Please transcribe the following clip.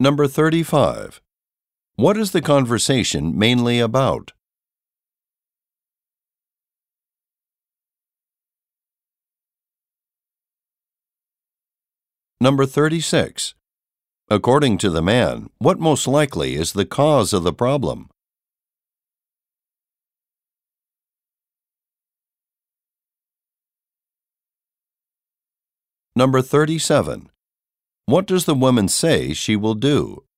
Number 35. What is the conversation mainly about? Number 36. According to the man, what most likely is the cause of the problem? Number 37. What does the woman say she will do?